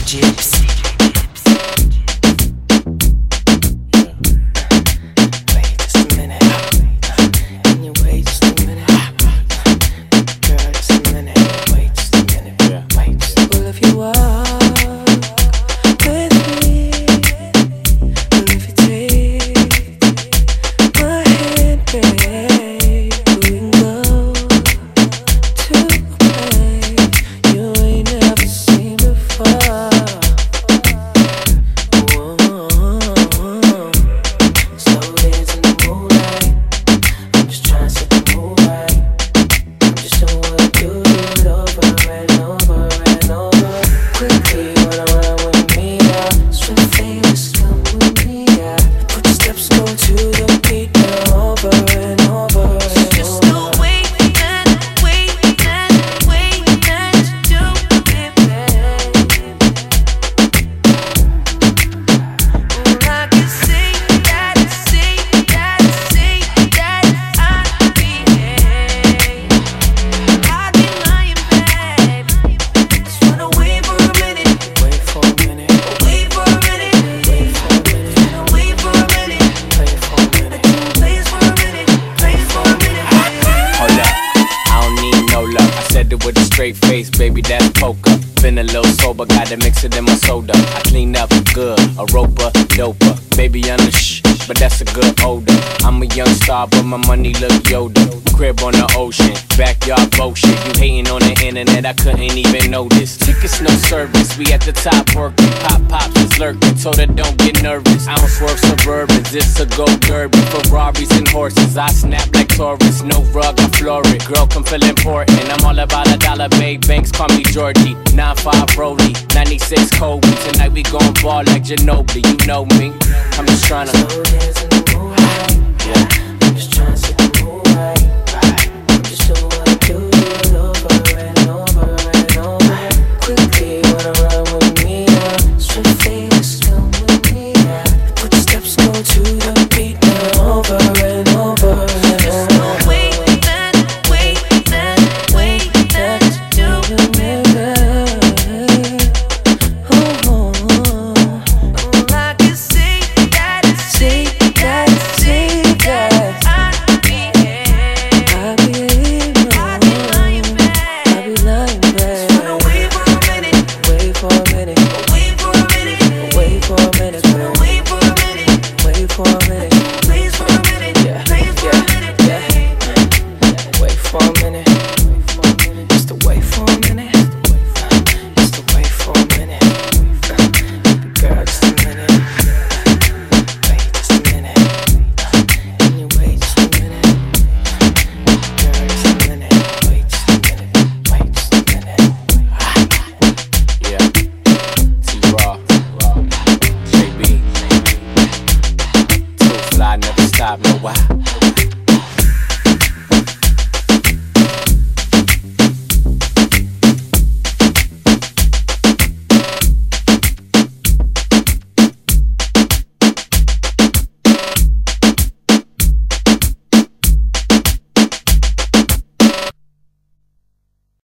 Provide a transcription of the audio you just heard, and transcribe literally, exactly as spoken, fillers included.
D J Gibbs. With a straight face, baby, that's poker. Been a little sober, gotta mix it in my soda. I clean up good, a roper, doper. Baby, I'm the shh, but that's a good odor. I'm a young star, but my money look Yoda. Crib on the ocean, backyard bullshit. You hating on the internet, I couldn't even notice. Tickets, no service, we at the top working. Pop pops is lurking, told her don't get nervous. I don't swerve Suburbans, it's a go derby. Ferraris and horses, I snap like Taurus. No rug, I floor it. Girl, come feel important. I'm all about a dollar, babe. Banks call me Georgie. nine five Rollie, ninety-six Kobe. Tonight we gon' ball like Ginobili, you know me. I'm just tryna Slow dance in the moonlight. Yeah, I'm just tryna set the mood right. I'm just doing what I do, do it over and over and over. Quickly, wanna run with me now? Sweet face, come with me now. Put the steps, go to the beat now. Over and over and over. Wait, then, wait, then, wait, then to do it. I never stop, no why.